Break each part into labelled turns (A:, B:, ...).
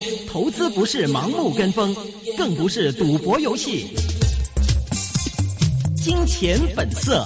A: 投資不是盲目跟風，更不是賭博遊戲。金錢本色。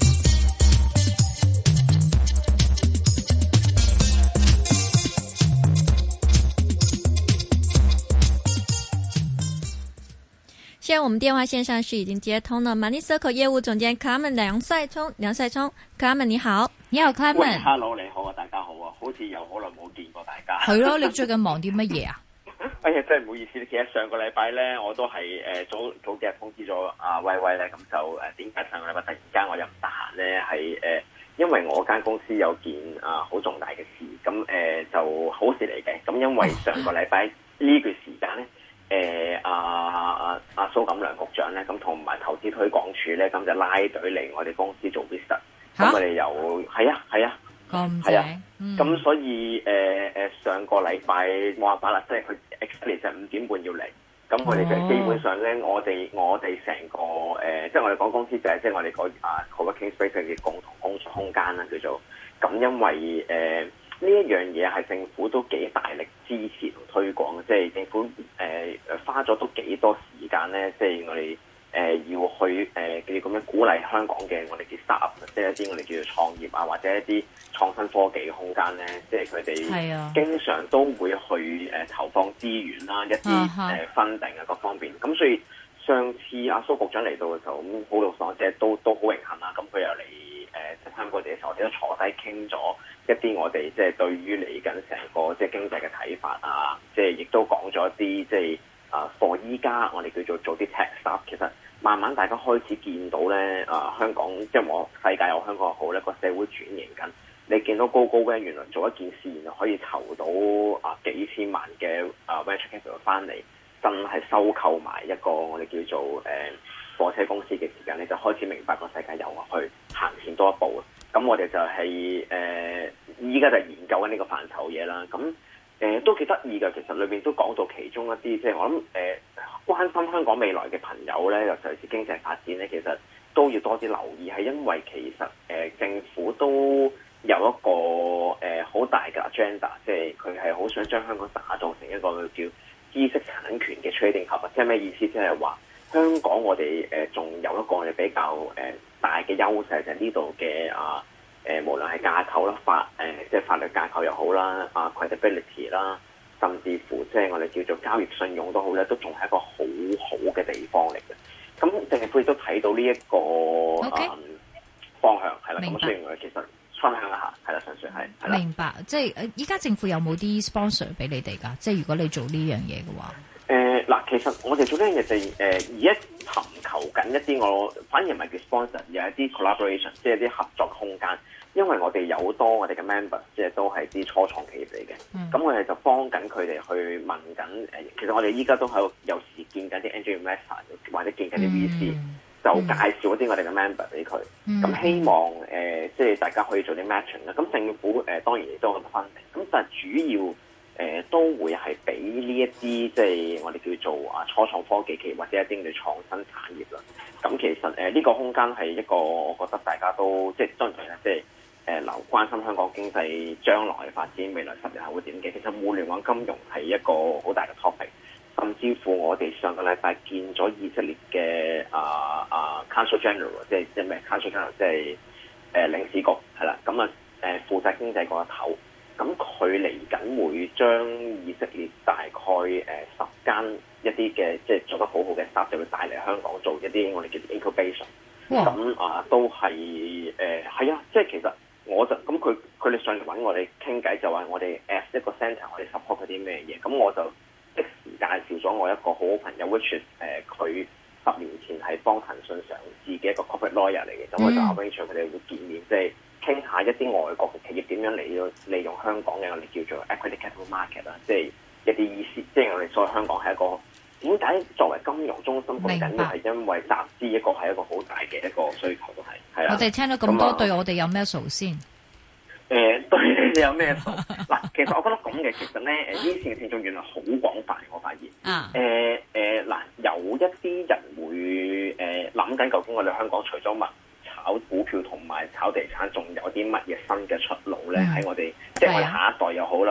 B: 现在我們電話線上是已經接通了 Money Circle 業務總監 Clement 梁帥聰，Clement 你好，
C: 你好 Clement。
D: Hello 你好啊，大家好啊，好似又好耐冇見過大家。
C: 係咯，你最近忙啲乜嘢啊？
D: 哎呀，真係唔好意思，其實上個禮拜咧，我都係早幾日通知咗阿威威咧，咁就點解上個禮拜突然間我又唔得閒咧？係因為我間公司有件好重大嘅事，咁就好事嚟嘅。咁因為上個禮拜呢段時間咧，阿蘇錦良局長咧，咁同埋投資推廣署咧，咁就拉隊嚟我哋公司做 visit。咁我哋又係啊。
C: 咁正，
D: 咁所以上個禮拜冇辦法啦，即係佢 exactly 就5點半要嚟，咁我哋就基本上咧，我哋成個即係我哋講公司就係即係我哋個co-working space 嘅共同工作空間啦，叫做咁，因為呢一樣嘢係政府都幾大力支持同推廣，即係政府花咗都幾多時間咧，即係我哋。要去叫咁樣鼓勵香港嘅我哋叫 startup， 即係一啲我哋叫做創業啊，或者一啲創新科技嘅空間咧，即係佢哋經常都會去投放資源啦，一啲funding啊各方面。咁所以上次阿蘇局長嚟到嘅時候，咁好老實，即係都好榮幸啦。咁佢又嚟參觀我哋嘅時候，我哋都坐低傾咗一啲我哋即係對於嚟緊成個即係經濟嘅睇法啊，即係亦都講咗一啲即係。for 依家我哋叫做啲 tech stuff， 其實慢慢大家開始見到咧，香港即係我世界有香港好咧，個社會轉型緊。你見到高咧，原來做一件事，原來可以籌到幾千萬嘅venture capital 翻嚟，真係收購埋一個我哋叫做貨車公司嘅時間，你就開始明白個世界又去行前多一步。咁我哋就係依家就研究緊呢個範疇嘢啦。咁都幾得意㗎，其實裏面都講到其中一啲，即係我諗關心香港未來嘅朋友咧，尤其是經濟發展咧，其實都要多啲留意，係因為其實政府都有一個好大嘅 agenda， 即係佢係好想將香港打造成一個叫知識產權嘅 trading hub，即係咩意思？即係話香港我哋仲有一個我哋比較大嘅優勢，就係呢度嘅無論係架構啦，即係法律架構又好啦，credibility 啦，甚至乎即係我哋叫做交易信用都好咧，都仲係一個好好嘅地方嚟嘅。咁政府亦都睇到呢一個方向係啦。咁所以我哋其實分享一下係啦，純粹係
C: 明白。即係依家政府有冇啲 sponsor 俾你哋㗎？即係如果你做呢樣嘢嘅話，
D: 嗱，其實我哋做呢樣嘢就而家尋求緊一啲我反而唔係叫 sponsor， 而係一啲 collaboration， 即係啲合作空間。因為我哋有好多我哋嘅 member， 即係都係啲初創企業嚟嘅，咁我哋就幫緊佢哋去問緊其實我哋依家都喺度有時見緊啲 angel investor 或者見緊啲 VC，就介紹一啲我哋嘅 member 俾佢，咁希望即係大家可以做啲 matching 啦。咁政府當然亦都有分定，咁但係主要都會係俾呢一啲即係我哋叫做初創科技企業或者一啲嘅創新產業啦。咁其實呢個空間係一個我覺得大家都即係當然即係。關心香港經濟將來嘅發展，未來10年後會點嘅？其實互聯網金融係一個好大嘅 topic， 甚至乎我哋上個禮拜見咗以色列嘅Council General， 即係咩 Council General， 即係領事局係啦。咁負責經濟嗰一頭，咁佢嚟緊會將以色列大概10間一啲嘅即係做得好好嘅 startup 就會帶嚟香港做一啲我哋叫 incubation。咁都係係啊，即係其實。我就咁佢哋上嚟揾我哋傾偈，就話我哋 as 一個 centre， 我哋 support 嗰啲咩嘢，咁我就即時介紹咗我一個好好朋友 which 佢10年前係幫騰訊上市嘅一個 corporate lawyer 嚟嘅，咁我就 arrange 佢哋會見面，即係傾下一啲外國嘅企業點樣利用香港嘅我哋叫做 equity capital market 啦，即係一啲意思，即係我哋所謂香港係一個點解作為金融中心咁緊要，係因為集資一個係一個好大嘅一個需求都係。
C: 我哋聽到咁多，對我哋有咩數先？
D: 對你哋有咩數？嗱，其實我覺得咁嘅，其實咧，呢線嘅聽眾原來好廣泛，我發現。嗱，有一啲人會諗緊，究竟我哋香港除咗炒股票同埋炒地產，仲有啲乜嘢新嘅出路咧？喺我哋即係我哋下一代又好啦，或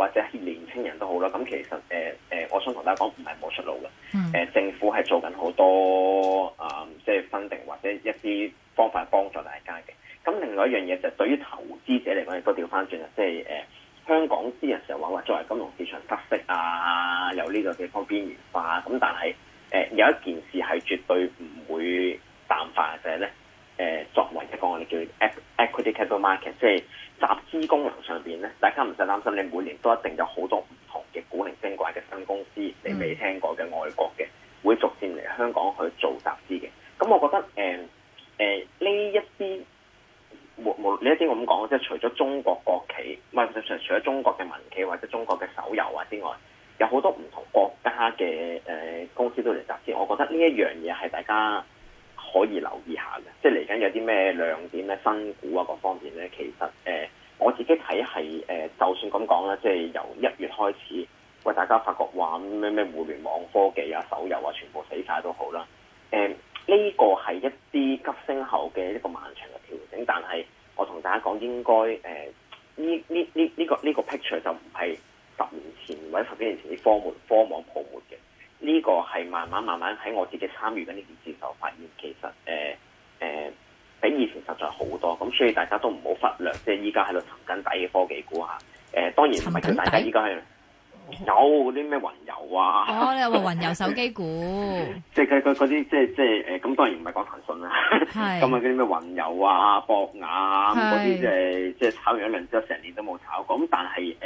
D: 或者係年青人都好啦。咁其實我想同大家講，唔係冇出路嘅。政府係做緊好多即係分定或者一啲方法幫助大家嘅。咁另外一樣嘢就係對於投資者嚟講，亦都調翻轉啦，即係香港啲人成日話作為金融市場失色啊，有呢個地方邊緣化。咁但係有一件事係絕對唔會淡化嘅，就係咧作為一個我哋叫 equity capital market， 即係集資功能上邊咧，大家唔使擔心，你每年都一定有好多唔同嘅古靈精怪嘅新公司，你未聽過嘅外國嘅，會逐漸嚟香港去做集資嘅。咁我覺得呢一啲呢一啲咁講，即係除咗中國國企，唔係除咗中國嘅民企或者中國嘅手遊啊之外，有好多唔同國家嘅公司都嚟集資。我覺得呢一樣嘢係大家可以留意下嘅，即係嚟緊有啲咩亮點咧、新股啊各方面咧，其實我自己睇係就算咁講啦，即係由1月開始，喂大家發覺話咩互聯網科技啊、手遊啊，全部死晒都好啦。呢個係一啲急升後嘅一個漫長嘅調整，但係我同大家講，應該呢個 picture 就唔係10年前或者10幾年前啲科網泡沫嘅。呢個係慢慢喺我自己參與緊呢件事就發現，其實比以前實在好多，咁所以大家都唔好忽略，即係依家喺度沉緊底嘅科技股嚇。當然唔係叫大家依家係有啲咩雲遊啊。
C: 哦，你話雲遊手機股，
D: 即係佢嗰啲即係咁當然唔係講騰訊啦。係。咁啊嗰啲咩雲遊啊、博雅啊嗰啲即係炒完一輪之後，成年都冇炒過。咁但係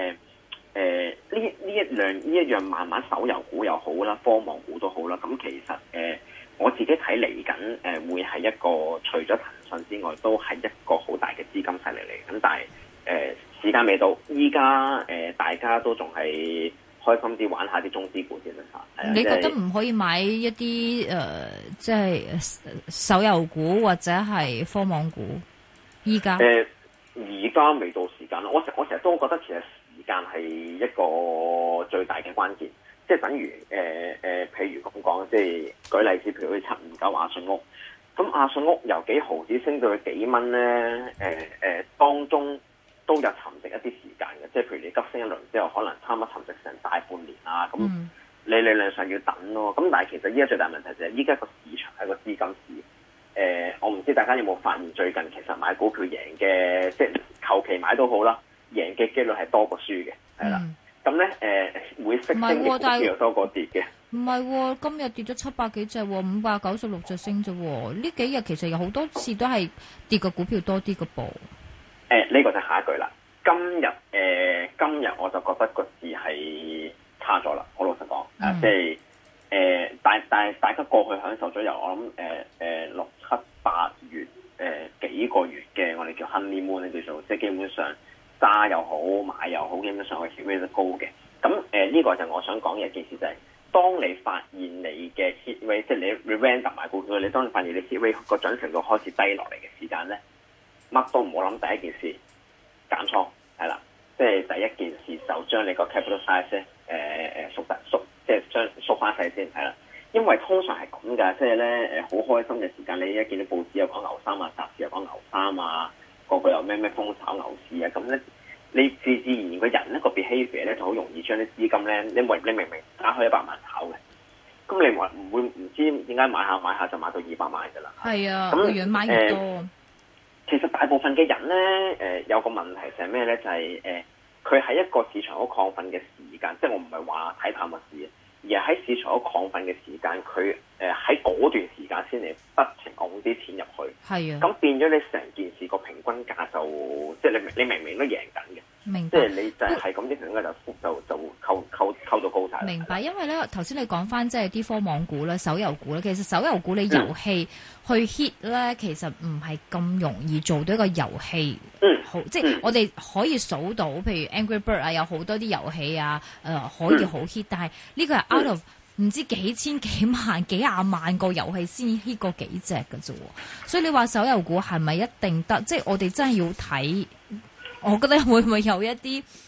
D: 呢一樣慢慢手遊股又好啦，科網股都好啦。咁其實我自己睇嚟緊會係一個除咗騰訊之外，都係一個好大嘅資金勢力嚟。咁但係時間未到，依家大家都仲係開心啲玩下啲中資股先啦嚇。
C: 你覺得唔可以買一啲即係手遊股或者係科網股？依家
D: 而家未到時間咯。我成日都覺得其實時間係一個最大嘅關鍵，即係等於譬如咁講，即係舉例子，譬如759亞信屋，咁亞信屋由幾毫子升到去幾蚊咧，當中都有沉寂一啲時間嘅，即係譬如你急升一輪之後，可能差唔多沉寂成大半年啊，咁你理論上要等咯。咁但係其實依家最大問題就係依家個市場係個資金市。我唔知大家有冇發現最近其實買股票贏嘅，即係求其買都好啦，贏嘅機率係多過輸嘅，係啦。咁咧會識升嘅股票又多過跌嘅。
C: 唔係，今日跌咗700幾隻，596隻升啫。呢幾日其實有好多次都係跌嘅股票多啲嘅噃。
D: 呢個就下一句啦。今日我就覺得個市係差咗啦。好老實講，即係但係大家過去享受咗由我諗6、7、8月幾個月嘅我哋叫 honeymoon 咧，叫做即係基本上揸又好買又好，基本上個 hit rate 都高嘅。咁呢個就我想講嘅一件事就係，當你發現你嘅 hit rate， 即係你 random 買股票，你當你發現你 hit rate 個準程度開始低落嚟嘅時間咧，乜都唔好諗，第一件事減倉係啦，即係第一件事就將你個 capital size 咧縮，即係將縮翻細先係啦。因為通常係咁㗎，即係咧好開心嘅時間，你一見到報紙又講牛三啊，雜誌又講牛三啊，個個又咩風炒牛市啊，咁咧你自然個人咧個 behavior 咧就好容易將啲資金咧，你明明打開100萬炒嘅，咁你唔會唔知點解買下就買到200萬㗎啦。係啊，咁
C: 越買越多。
D: 其實大部分嘅人咧有個問題就係咩咧？就係佢喺一個市場好亢奮嘅時間，即係我唔係話睇淡個市，而係喺市場好亢奮嘅時間，佢喺嗰段時間先嚟不停拱啲錢入去。係啊，咁變咗你成件事個平均價就即係你明明都贏緊嘅。明白，即係你就係咁啲平均價就溝到高晒。明白，因為咧頭先你講翻即係啲科網股咧、手遊股咧，其實手遊股你遊戲去 hit 咧，其實唔係咁容易做到一個遊戲。好，即係我哋可以數到，譬如 Angry Bird 啊，有好多啲遊戲啊，可以好 hit，但係呢個係 out of 唔知幾千幾萬幾廿萬個遊戲先 hit 過幾隻㗎啫。所以你話手遊股係咪一定得？即係我哋真係要睇。我覺得會唔會有一啲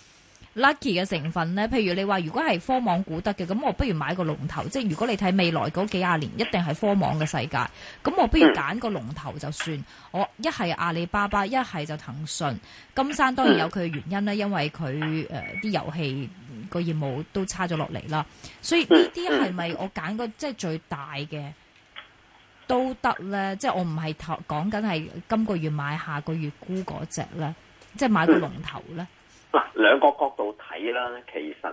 C: lucky 嘅成分咧？譬如你話如果係科網股得嘅，咁我不如買個龍頭。即係如果你睇未來嗰幾廿年，一定係科網嘅世界。咁我不如揀個龍頭就算。我一係阿里巴巴，一係就騰訊。金山當然有佢嘅原因啦，因為佢啲遊戲個業務都差咗落嚟啦。所以呢啲係咪我揀個即係最大嘅都得咧？即係我唔係講緊係今個月買下個月沽嗰隻咧，即係買個龍頭咧。
D: 嗱，兩個角度睇啦，其實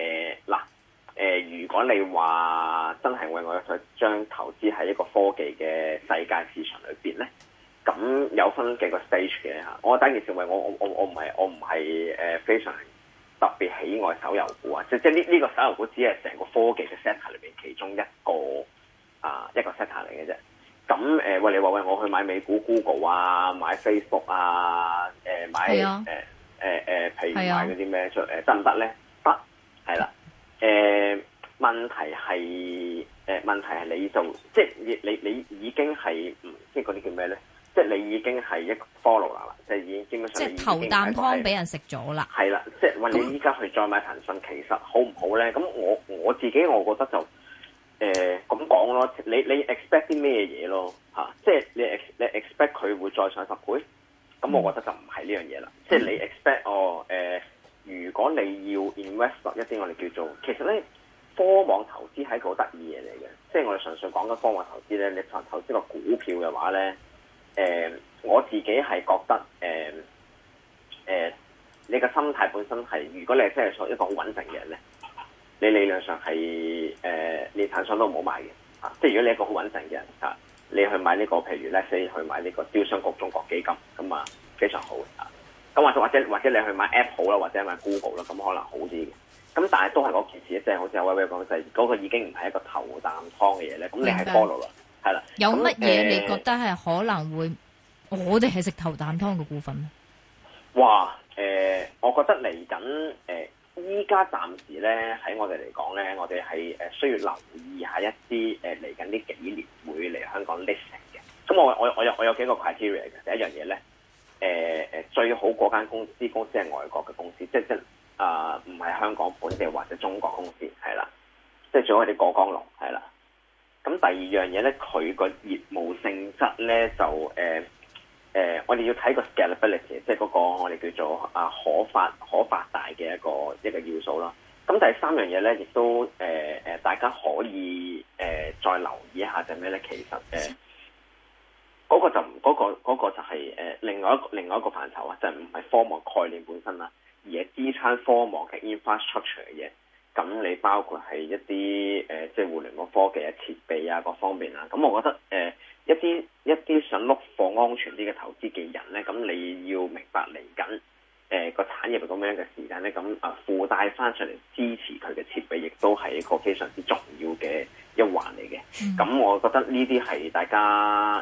D: 如果你話真係為我想將投資喺一個科技嘅世界市場裏邊咧，咁有分幾個 stage 嘅嚇。我第一件事為我唔係非常特別喜愛手遊股啊，即呢個手遊股只係成個科技嘅 sector 裏邊其中一個 sector 嚟嘅啫。咁喂，你話喂我去買美股 Google 啊，買 Facebook 啊，買譬如買嗰啲咩出得唔得咧？得，係啦。問題係你就即係你已經係即係嗰啲叫咩咧？即係你已經係一個 follow 啦，即係已經基本上即係
C: 頭啖湯俾人食咗啦。
D: 係啦，即係話你依家去再買騰訊，其實好唔好咧？咁我自己我覺得就咁講咯。你 expect 啲咩嘢咯？嚇，即係你 expect 佢會再上10倍？咁我覺得就唔係呢樣嘢啦。即係你 expect 如果你要 invest 一啲我哋叫做，其實咧科網投資係一個好得意嘢嚟嘅。即係我哋純粹講緊科網投資咧，你投資個股票嘅話咧，我自己係覺得你嘅心態本身係，如果你係真係做一個好穩陣嘅人咧，你理論上係連騰訊都唔好買嘅嚇。即係如果你一個好穩陣嘅人嚇，你去買呢個譬如咧，你去買呢個招商局中國基金咁啊，非常好嘅。咁或者你去買 Apple 啦，或者買 Google 啦，咁可能好啲嘅。咁但係都係嗰件事，即係好似阿威威講，就係嗰個已經唔係一個頭啖湯嘅嘢咧。咁你係 follow 啦，係啦。
C: 有乜嘢你覺得係可能會我哋係食頭啖湯嘅股份咧？
D: 哇！我覺得嚟緊依家暫時咧喺我哋嚟講咧，我哋係需要留意一下一啲嚟緊呢幾年會嚟香港 listing 嘅。咁我有幾個 criteria 嘅。第一樣嘢咧。最好嗰間公司係外國嘅公司，即唔係香港本地或者中國公司，係啦，即係最好係啲過江龍，係啦。咁第二樣嘢咧，佢個業務性質咧就我哋要睇個 scalability， 即係嗰個我哋叫做可發大嘅一個要素啦。咁第三樣嘢咧，亦都大家可以再留意一下就係咩咧？其實嗰個就係另外一個範疇啊，就唔係科網概念本身啦，而係支撐科網嘅 infrastructure 嘅嘢。咁你包括係一啲即係互聯網科技啊、設備啊各方面啊。咁我覺得一啲想碌貨安全啲嘅投資嘅人咧，咁你要明白嚟緊個產業係咁樣嘅時間咧，咁附帶翻上嚟支持佢嘅設備，亦都係一個非常之重要嘅一環嚟嘅。咁我覺得呢啲係大家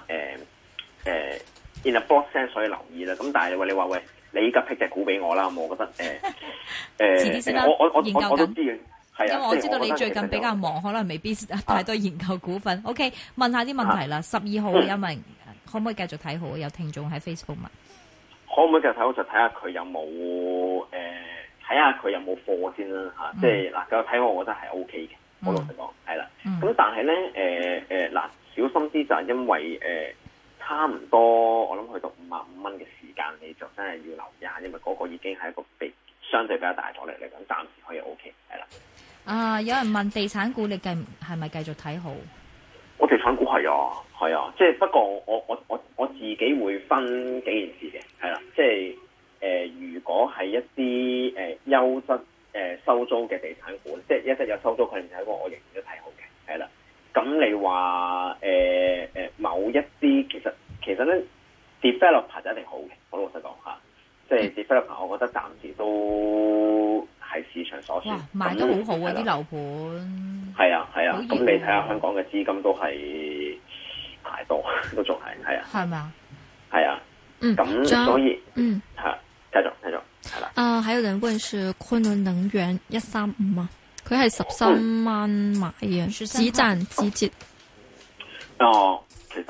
D: in a broad sense 所以留意啦。咁但係你話喂，你依家批隻股俾我啦，我覺得
C: 遲啲先啦，
D: 我都知嘅，係啊，
C: 因為我知道你最近比較忙，可能未必太多研究股份。OK， 問下啲問題啦。12號有問可唔可以繼續睇好？有聽眾喺 Facebook 問，
D: 可唔可以繼續睇好？就睇下佢有冇睇下佢有冇貨先啦嚇。即係嗱，繼續睇好，我覺得係 OK 嘅。我老實講係啦。咁但係咧小心啲就係因為差唔多，我諗去到55蚊嘅時間，你就真係要留意下，因為嗰個已經係一個相對比較大阻力嚟，咁暫時可以 OK 係啦。
C: 有人問地產股你係咪繼續睇好？
D: 我地產股係啊，即係不過我自己會分幾件事嘅，係啦，即係如果係一啲優質收租嘅地產股，即係一有收租佢哋睇過，我仍然都睇好嘅，係啦。咁你話某一啲其實咧 developer 就一定好嘅，我老實講嚇，即係 developer 我覺得暫時都係市場所需。哇，
C: 賣得好好啊啲樓盤。係
D: 啊，咁你睇下香港嘅資金都係太多，都仲係啊。係咪啊？係啊。咁所以係繼續係啦。
B: 還有人問是昆侖能源135嗎？佢係13蚊買嘅，幾賺幾折？
D: 其實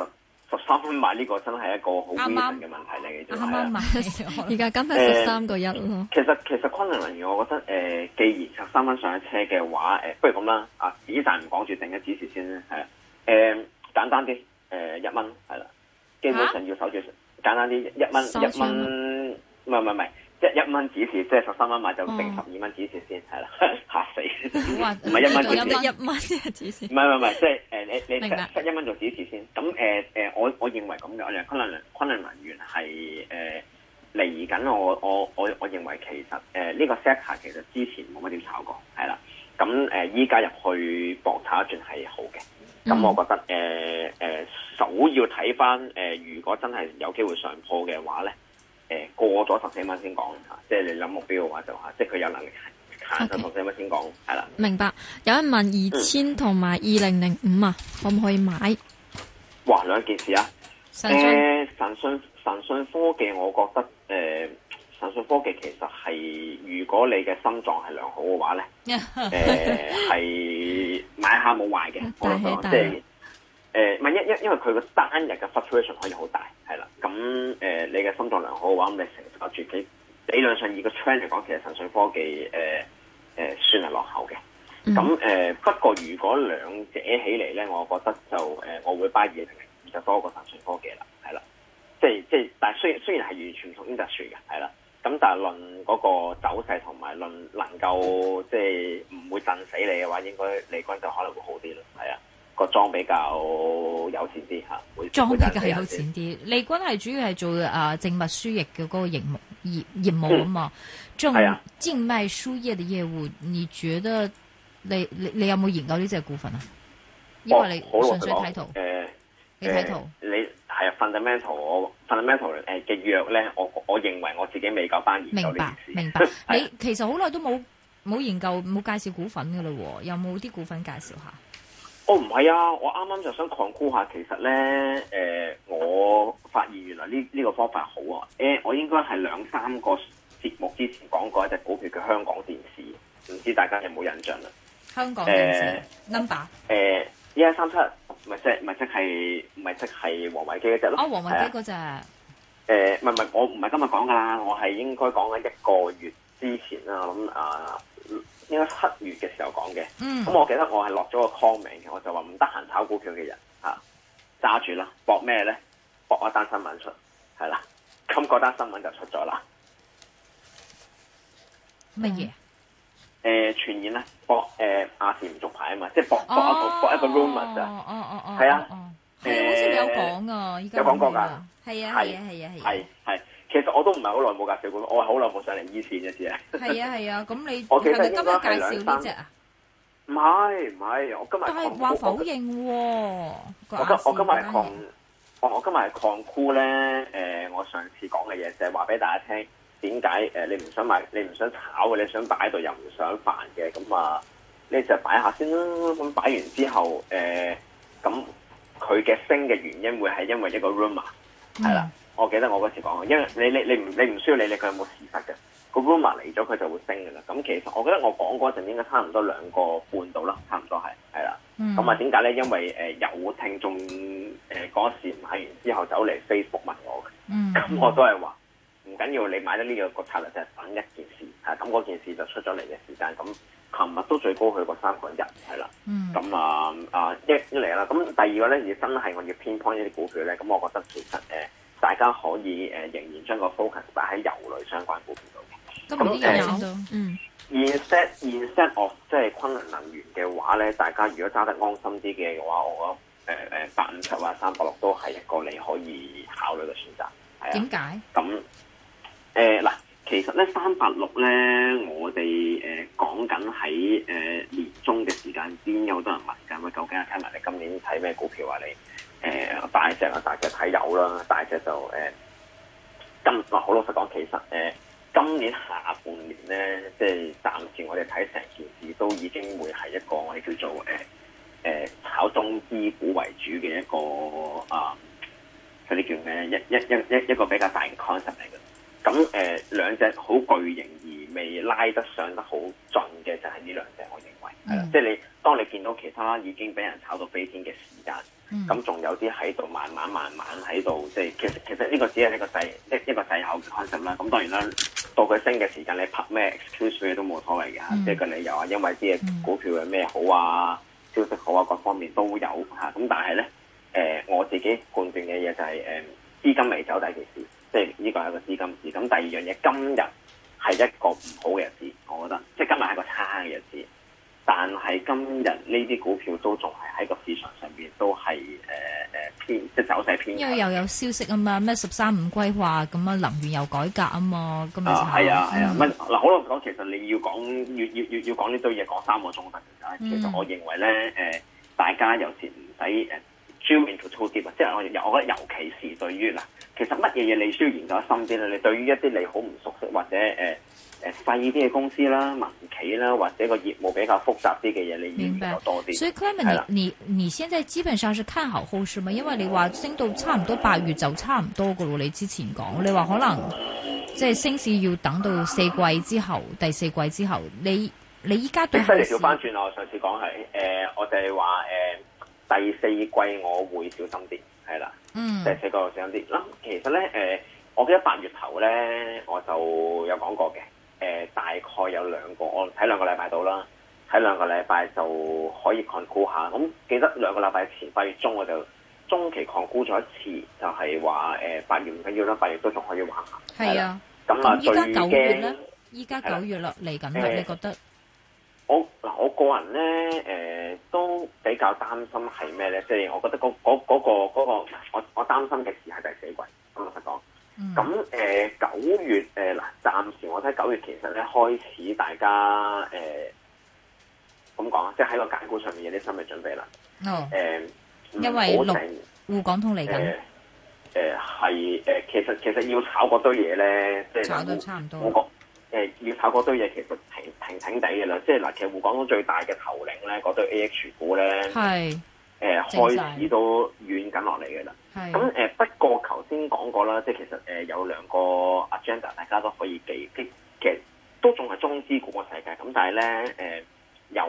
D: 13蚊買呢個真係一個好 reason 嘅問題嚟嘅啫。
C: 啱啱買，
B: 而家今日13.1咯。
D: 其實昆侖能源，我覺得既然13蚊上咗車嘅話，不如咁啦，止賺唔講住，定一指示先啦，係啦。簡單啲，1蚊係啦，基本上要守住。簡單啲，1蚊，唔係，1蚊指示，即係13蚊買就定12蚊指示先，係啦，嚇死，唔係1蚊指示
B: ，1蚊嘅指示，
D: 唔係，即係你set1蚊做指示先。咁我認為咁嘅，我認為昆侖能源係嚟緊，我認為其實呢個 sector 其實之前冇乜點炒過，係啦。咁依家入去搏炒一轉係好嘅。咁我覺得首要睇翻如果真係有機會上破嘅話咧，過咗14蚊先講嚇，即係你諗目標嘅話就即係佢有能力行到14蚊先講，係啦。
B: 明白。有人問2000同埋2005啊，可唔可以買？
D: 哇，兩件事啊！神訊科技，我覺得神訊科技其實係如果你嘅心臟係良好嘅話咧，係買下冇壞嘅。我諗即係因為佢個單日嘅 fluctuation 可以好大，係啦。咁你嘅心臟良好嘅話，咁你承受住佢理論上以個 trend 嚟講，其實神訊科技算係落後嘅。咁不過如果兩者起嚟咧，我覺得就我會 buy 2005就多過神訊科技啦，係啦。即係，但係雖然係完全唔同 industry 嘅，係啦。咁但係論嗰個走勢同埋論能夠即係唔會震死你嘅話，應該利軍就可能會好啲咯，係啊。個裝比較有錢啲嚇，
C: 裝比較有錢啲。利軍係主要係做靜脈輸液嘅嗰個業務啊嘛，仲靜脈輸液嘅業務，你覺得你有冇研究呢隻股份啊？因為你純粹睇圖，你睇圖，
D: 你係 fundamental 嘅藥咧，我認為我自己未夠班研究呢件事。
C: 明白。你其實好耐都冇研究冇介紹股份㗎啦喎，有冇啲股份介紹下？
D: 唔係啊！我啱啱就想擴估下，其實咧，我發現原來呢個方法好啊！我應該係2-3個節目之前講過一隻股票叫香港電視，唔知大家有冇印象啦？
C: 香港電視 number
D: 1137，唔係即係王維基嗰隻咯。
C: 王維基嗰隻。
D: 唔係，我唔係今日講噶啦，我係應該講緊1個月之前啦。我諗應該7月嘅時候講嘅，咁我記得我係落咗個 comment 嘅，我就話唔得閒炒股票嘅人揸住啦，搏咩咧？搏一單新聞出，係啦，咁嗰單新聞就出咗啦。
C: 乜嘢？
D: 傳言咧，搏亞視唔續牌啊嘛，即係搏一個 rumor 咋。係啊，
C: 好似你有講啊，依家
D: 有講過㗎。
C: 係啊。
D: 其實我都唔係好耐冇介紹過，我係好耐冇上嚟醫線嘅啫。
C: 係啊，咁你
D: 我記得
C: 係咪今日介紹呢隻啊？
D: 唔係，我今日
C: 但係話否認喎。
D: 我今日係擴箍咧。我上次講嘅嘢就係話俾大家聽，點解你唔想買，你唔想炒嘅，你想擺喺度又唔想煩嘅，咁你就擺下先啦。咁擺完之後，咁佢嘅升嘅原因會係因為一個 rumor 係啦。我記得我嗰時講，因為你唔需要理佢有冇事實嘅，個 rumor 嚟咗佢就會升嘅啦。咁其實我覺得我講嗰陣應該差唔多2個半到啦，差唔多係啦。咁點解咧？因為有聽眾嗰時買完之後走嚟 Facebook 問我嘅，咁我都係話唔緊要，你買得呢個策略就係等一件事，咁嗰件事就出咗嚟嘅時間。咁琴日都最高去過3.1，係啦。咁一嚟啦，咁第二個咧，要真係我要偏 point 一啲股票咧，咁我覺得其實大家可以仍然將個 focus 擺喺油類相關股票度嘅。
C: 咁
D: instead of 即係昆侖能源嘅話咧，大家如果揸得安心啲嘅話，我覺得857或386都係一個你可以考慮嘅選擇。係啊。
C: 點解？
D: 咁嗱，其實咧386咧，我哋講緊喺年中嘅時間，先有好多人問緊，喂，究竟睇埋你今年睇咩股票啊？你大隻睇有啦，大隻就好老實講，其實今年下半年咧，即係暫時我哋睇成件事都已經會係一個我哋叫做炒中資股為主嘅一個嗰啲叫咩？一個比較大嘅 concept 嚟嘅。咁兩隻好巨型而未拉得上得好盡嘅就係呢兩隻，我認為。 係啦，即係你當你見到其他已經俾人炒到飛天嘅時間，咁仲有啲喺度慢慢喺度，即係其實呢個只係一個滯後嘅 concept 啦。咁當然啦，到佢升嘅時間，你拍咩 excuse 佢都冇所謂嘅，即係個理由啊，因為啲嘢股票有咩好啊，消息好啊，各方面都有嚇。咁但係咧，我自己判斷嘅嘢就係資金未走第一件事，即係呢個係一個資金市。咁第二樣嘢，今日係一個唔好嘅日子，我覺得，即係今日係一個差嘅日子。但係今日呢啲股票都仲係喺個市場上邊都係偏，即係走勢偏。
C: 因為又有消息啊嘛，咩13五規劃咁啊，能源又改革啊嘛，咁咪
D: 係啊。嗱，好老實講，其實你要講要講呢堆嘢講3個鐘頭嘅。其實我認為咧，大家有時唔使drill into too deep，即係我覺得尤其是對於嗱，其實乜嘢嘢你需要研究深啲咧？你對於一啲你好唔熟悉或者細啲嘅公司啦、民企啦，或者個業務比較複雜啲嘅嘢，你要研究多啲。
C: 所以 Clement，你現在基本上是看好後市嘛？因為你話升到差唔多8月就差唔多噶咯。你之前講，你話可能即係升市要等到4季之後，第4季之後，你依家對後市
D: 調翻轉我上次講係我就係話第4季我會小心啲，係啦，第4季我小心啲。嗱，其實咧我記得8月頭咧我就有講過嘅。大概有2個，我睇2個禮拜到啦，睇2個禮拜就可以 conclude 下。咁記得2個禮拜前8月中我就中期 conclude 咗一次，就係話8月唔緊要啦，8月都仲可以玩下。
C: 係啊，
D: 咁
C: 依家9月咧，依家9月啦，嚟緊啦，你覺得？
D: 我個人咧都比較擔心係咩咧？即係我覺得嗰個我擔心嘅事係第4季。咁老實講。咁9月嗱，暫時我睇9月其實咧開始大家咁講啊，即係喺個揀股上面有啲心理準備啦。
C: 因為滬港通嚟緊。
D: 其實要炒嗰堆嘢咧，即係
C: 炒到差唔多。
D: 我覺要炒嗰堆嘢其實停地嘅啦。即係嗱，其實滬港通最大嘅頭領咧，嗰堆 AH 股咧係開始都軟緊落嚟嘅啦。咁不過頭先講過啦，即係其實有2個 agenda， 大家都可以記，其實都仲係中資股嘅世界。咁但係咧有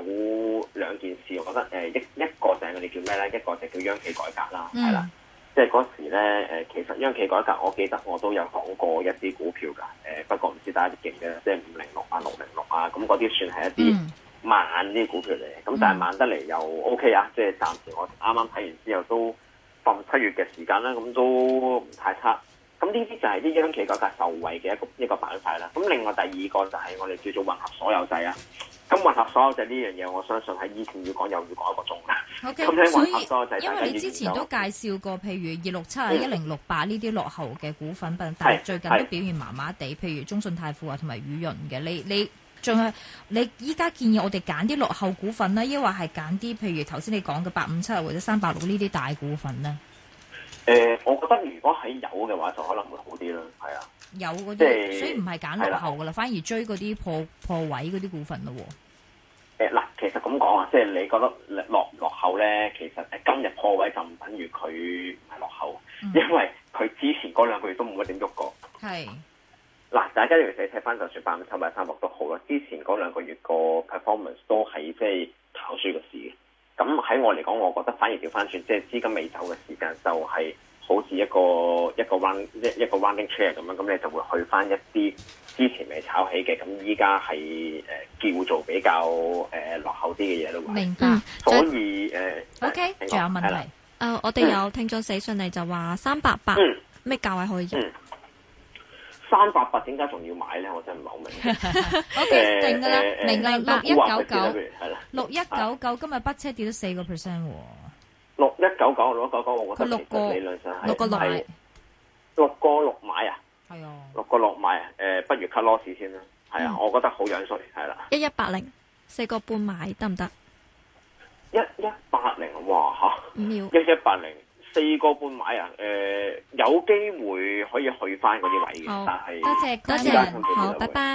D: 2件事，我覺得一個就係我哋叫咩咧？一個就叫央企改革啦，係啦。即係嗰時咧其實央企改革，我記得我都有講過一啲股票㗎。不過唔知大家記唔記得，即係506啊、606啊，咁嗰啲算係一啲慢啲股票嚟。咁但係慢得嚟又 OK 啊，即係暫時我啱啱睇完之後都。7月嘅時間啦，咁都唔太差。咁呢啲就係啲央企改革受惠嘅一個板塊啦。咁另外第2個就係我哋叫做混合所有制啊。咁混合所有制呢樣嘢，我相信喺以前要講又要講1個鐘啦。
C: OK，
D: 所以
C: 因為你之前都介紹過，譬如267啊、1068呢啲落後嘅股份，但係最近都表現麻麻地。譬如中信泰富啊同埋宇潤嘅，你仲係你依家建議我哋揀啲落後股份啦，抑或係揀啲譬如頭先你講嘅857或者386呢啲大股份咧？
D: 我覺得如果係有嘅話，就可能會好啲啦。係啊，
C: 有嗰啲，所以唔係揀落後噶啦，反而追嗰啲破位嗰啲股份咯。
D: 嗱，其實咁講啊，即係你覺得落後咧，其實今日破位就唔等於佢唔係落後，因為佢之前嗰2個月都冇乜點喐過。係。嗱，大家要睇翻，就算857或者386都好啦。之前嗰2個月個 performance 都係即係跑輸個市嘅。咁喺我嚟講，我覺得反而調翻轉，即係資金未走嘅時間，就係好似一個 rounding chair 咁樣。咁你就會去翻一啲之前未炒起嘅，咁依家係叫做比較落後啲嘅嘢咯。
C: 明白。
D: 所以
C: OK，仲有問題？
B: 我哋有聽眾寫信嚟就話388咩價位可以入
D: ？388點解仲要買咧？我真係唔係好明。
C: OK，定㗎啦，明啦，6199，
D: 係啦
C: ，6199今日北車跌咗4%喎。
D: 6199，我覺得其實理論上係6個6買啊。係啊。6個6買啊，不如 cut loss 先啦。係啊，我覺得好樣衰，係啦。
B: 1180，4個半買得唔得
D: ？1180，哇嚇
B: ！1180。
D: 4個半買啊！有機會可以去翻嗰啲位嘅，但係
B: 多謝，好，拜拜。